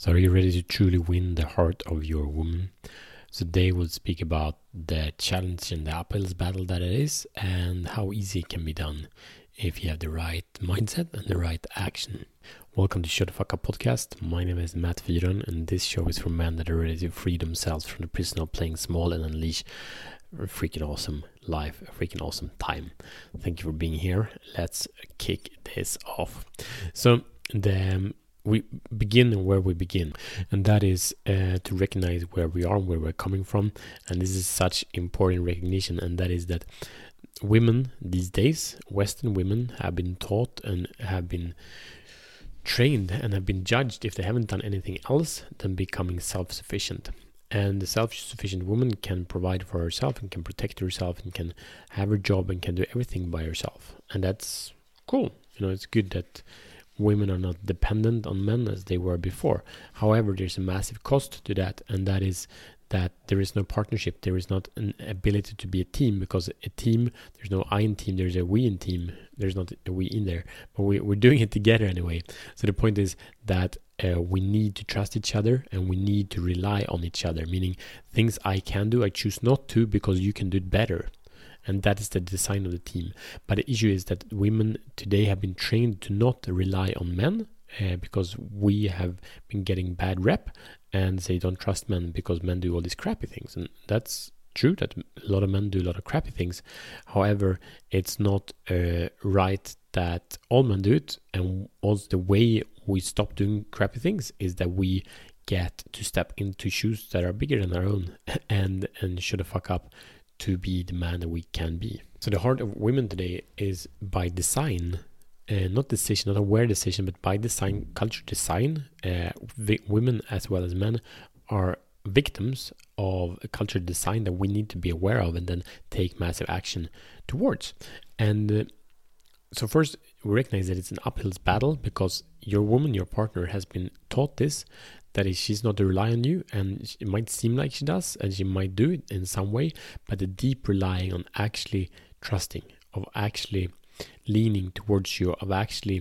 So are you ready to truly win the heart of your woman? So today we'll speak about the challenge and the uphill battle that it is and how easy it can be done if you have the right mindset and the right action. Welcome to Shut the Fuck Up podcast. My name is Matt Fyron and this show is for men that are ready to free themselves from the prison of playing small and unleash a freaking awesome life, a freaking awesome time. Thank you for being here. Let's kick this off. So we begin where we begin, and that is to recognize where we are and where we're coming from. And this is such important recognition, and that is that women these days, Western women, have been taught and have been trained and have been judged if they haven't done anything else than becoming self-sufficient. And the self-sufficient woman can provide for herself and can protect herself and can have her job and can do everything by herself. And that's cool. It's good that women are not dependent on men as they were before. However, there's a massive cost to that, and that is that there is no partnership. There is not an ability to be a team, because a team, there's no I in team, there's a we in team. There's not a we in there, but we're doing it together anyway. So the point is that we need to trust each other and we need to rely on each other, meaning things I can do, I choose not to because you can do it better. And that is the design of the team. But the issue is that women today have been trained to not rely on men because we have been getting bad rep, and they don't trust men because men do all these crappy things. And that's true that a lot of men do a lot of crappy things. However, it's not right that all men do it. And also the way we stop doing crappy things is that we get to step into shoes that are bigger than our own and shut the fuck up to be the man that we can be. So the heart of women today is by design, not decision, not aware decision, but by design, culture design. Women as well as men are victims of a culture design that we need to be aware of and then take massive action towards. And so first, we recognize that it's an uphill battle because your woman, your partner, has been taught this, that is, she's not to rely on you, and it might seem like she does, and she might do it in some way, but the deep relying on actually trusting, of actually leaning towards you, of actually,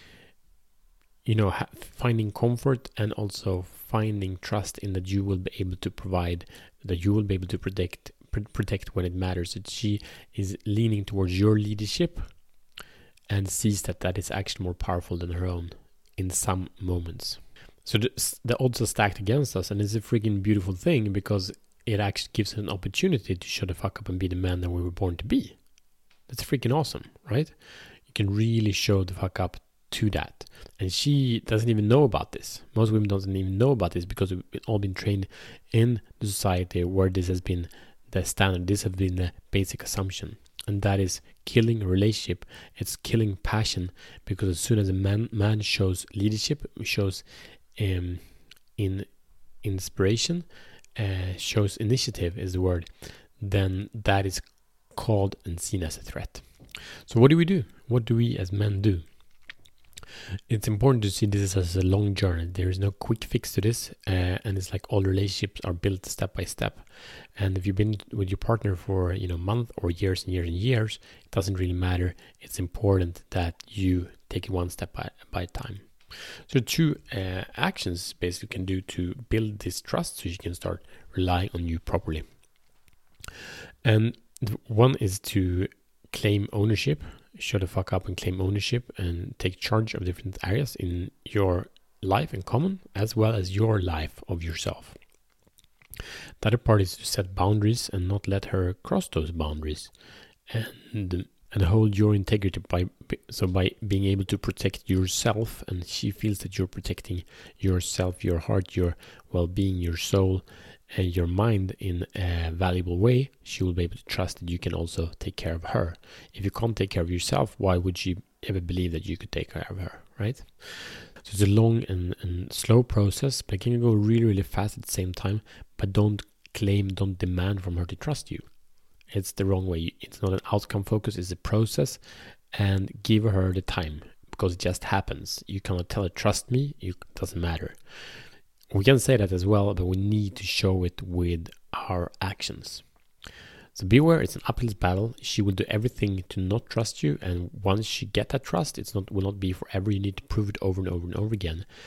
finding comfort and also finding trust in that you will be able to provide, that you will be able to protect when it matters, that she is leaning towards your leadership and sees that is actually more powerful than her own in some moments. So the odds are stacked against us, and it's a freaking beautiful thing because it actually gives us an opportunity to shut the fuck up and be the man that we were born to be. That's freaking awesome, right? You can really show the fuck up to that. And she doesn't even know about this. Most women don't even know about this because we've all been trained in the society where this has been the standard. This has been the basic assumption. And that is killing a relationship. It's killing passion, because as soon as a man shows leadership, shows in inspiration, shows initiative is the word, then that is called and seen as a threat. So what do we do? What do we as men do? It's important to see this as a long journey. There is no quick fix to this, and it's like all relationships are built step by step. And if you've been with your partner for a month or years and years and years, it doesn't really matter. It's important that you take it one step by a time. So two actions basically can do to build this trust so she can start relying on you properly. And one is to claim ownership, shut the fuck up and claim ownership and take charge of different areas in your life in common, as well as your life of yourself. The other part is to set boundaries and not let her cross those boundaries, and hold your integrity by being able to protect yourself, and she feels that you're protecting yourself, your heart, your well-being, your soul, and your mind in a valuable way. She will be able to trust that you can also take care of her. If you can't take care of yourself, why would she ever believe that you could take care of her, right? So it's a long and slow process, but it can go really, really fast at the same time. But don't demand from her to trust you. It's the wrong way. It's not an outcome focus, it's a process, and give her the time, because it just happens. You cannot tell her, trust me, it doesn't matter. We can say that as well, but we need to show it with our actions. So be aware, it's an uphill battle. She will do everything to not trust you, and once she get that trust, will not be forever. You need to prove it over and over and over again.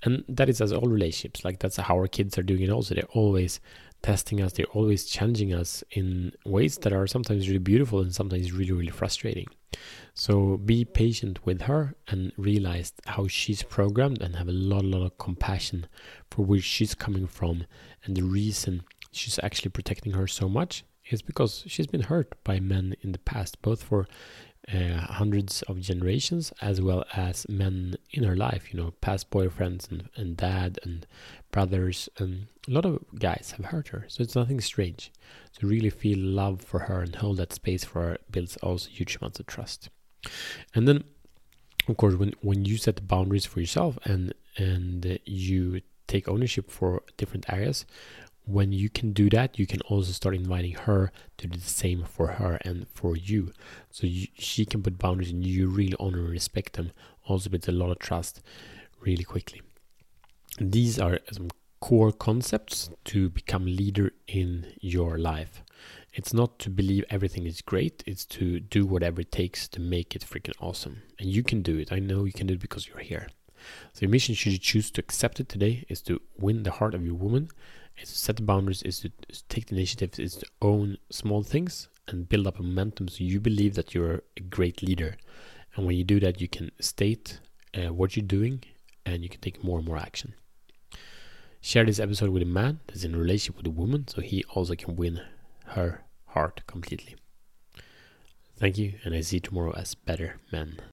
And that is as all relationships. Like that's how our kids are doing it also. They're always testing us. They're always challenging us in ways that are sometimes really beautiful and sometimes really, really frustrating. So be patient with her and realize how she's programmed, and have a lot of compassion for where she's coming from. And the reason she's actually protecting her so much is because she's been hurt by men in the past, both for hundreds of generations as well as men in her life, past boyfriends and dad and brothers, and a lot of guys have hurt her. So it's nothing strange. So really feel love for her and hold that space for her builds also huge amounts of trust. And then of course when you set the boundaries for yourself and you take ownership for different areas, when you can do that, you can also start inviting her to do the same for her and for you. So she can put boundaries and you really honor and respect them. Also builds a lot of trust really quickly. And these are some core concepts to become leader in your life. It's not to believe everything is great. It's to do whatever it takes to make it freaking awesome. And you can do it. I know you can do it because you're here. So your mission, should you choose to accept it today, is to win the heart of your woman. Is to set the boundaries, is to take the initiative, is to own small things and build up a momentum so you believe that you're a great leader. And when you do that, you can state what you're doing and you can take more and more action. Share this episode with a man that's in a relationship with a woman so he also can win her heart completely. Thank you, and I see you tomorrow as better men.